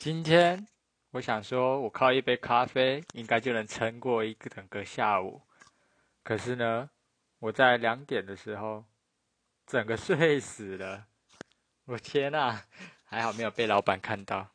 今天我想说，我靠一杯咖啡应该就能撑过整个下午。可是呢，我在2点的时候，整个睡死了。我天啊，还好没有被老板看到。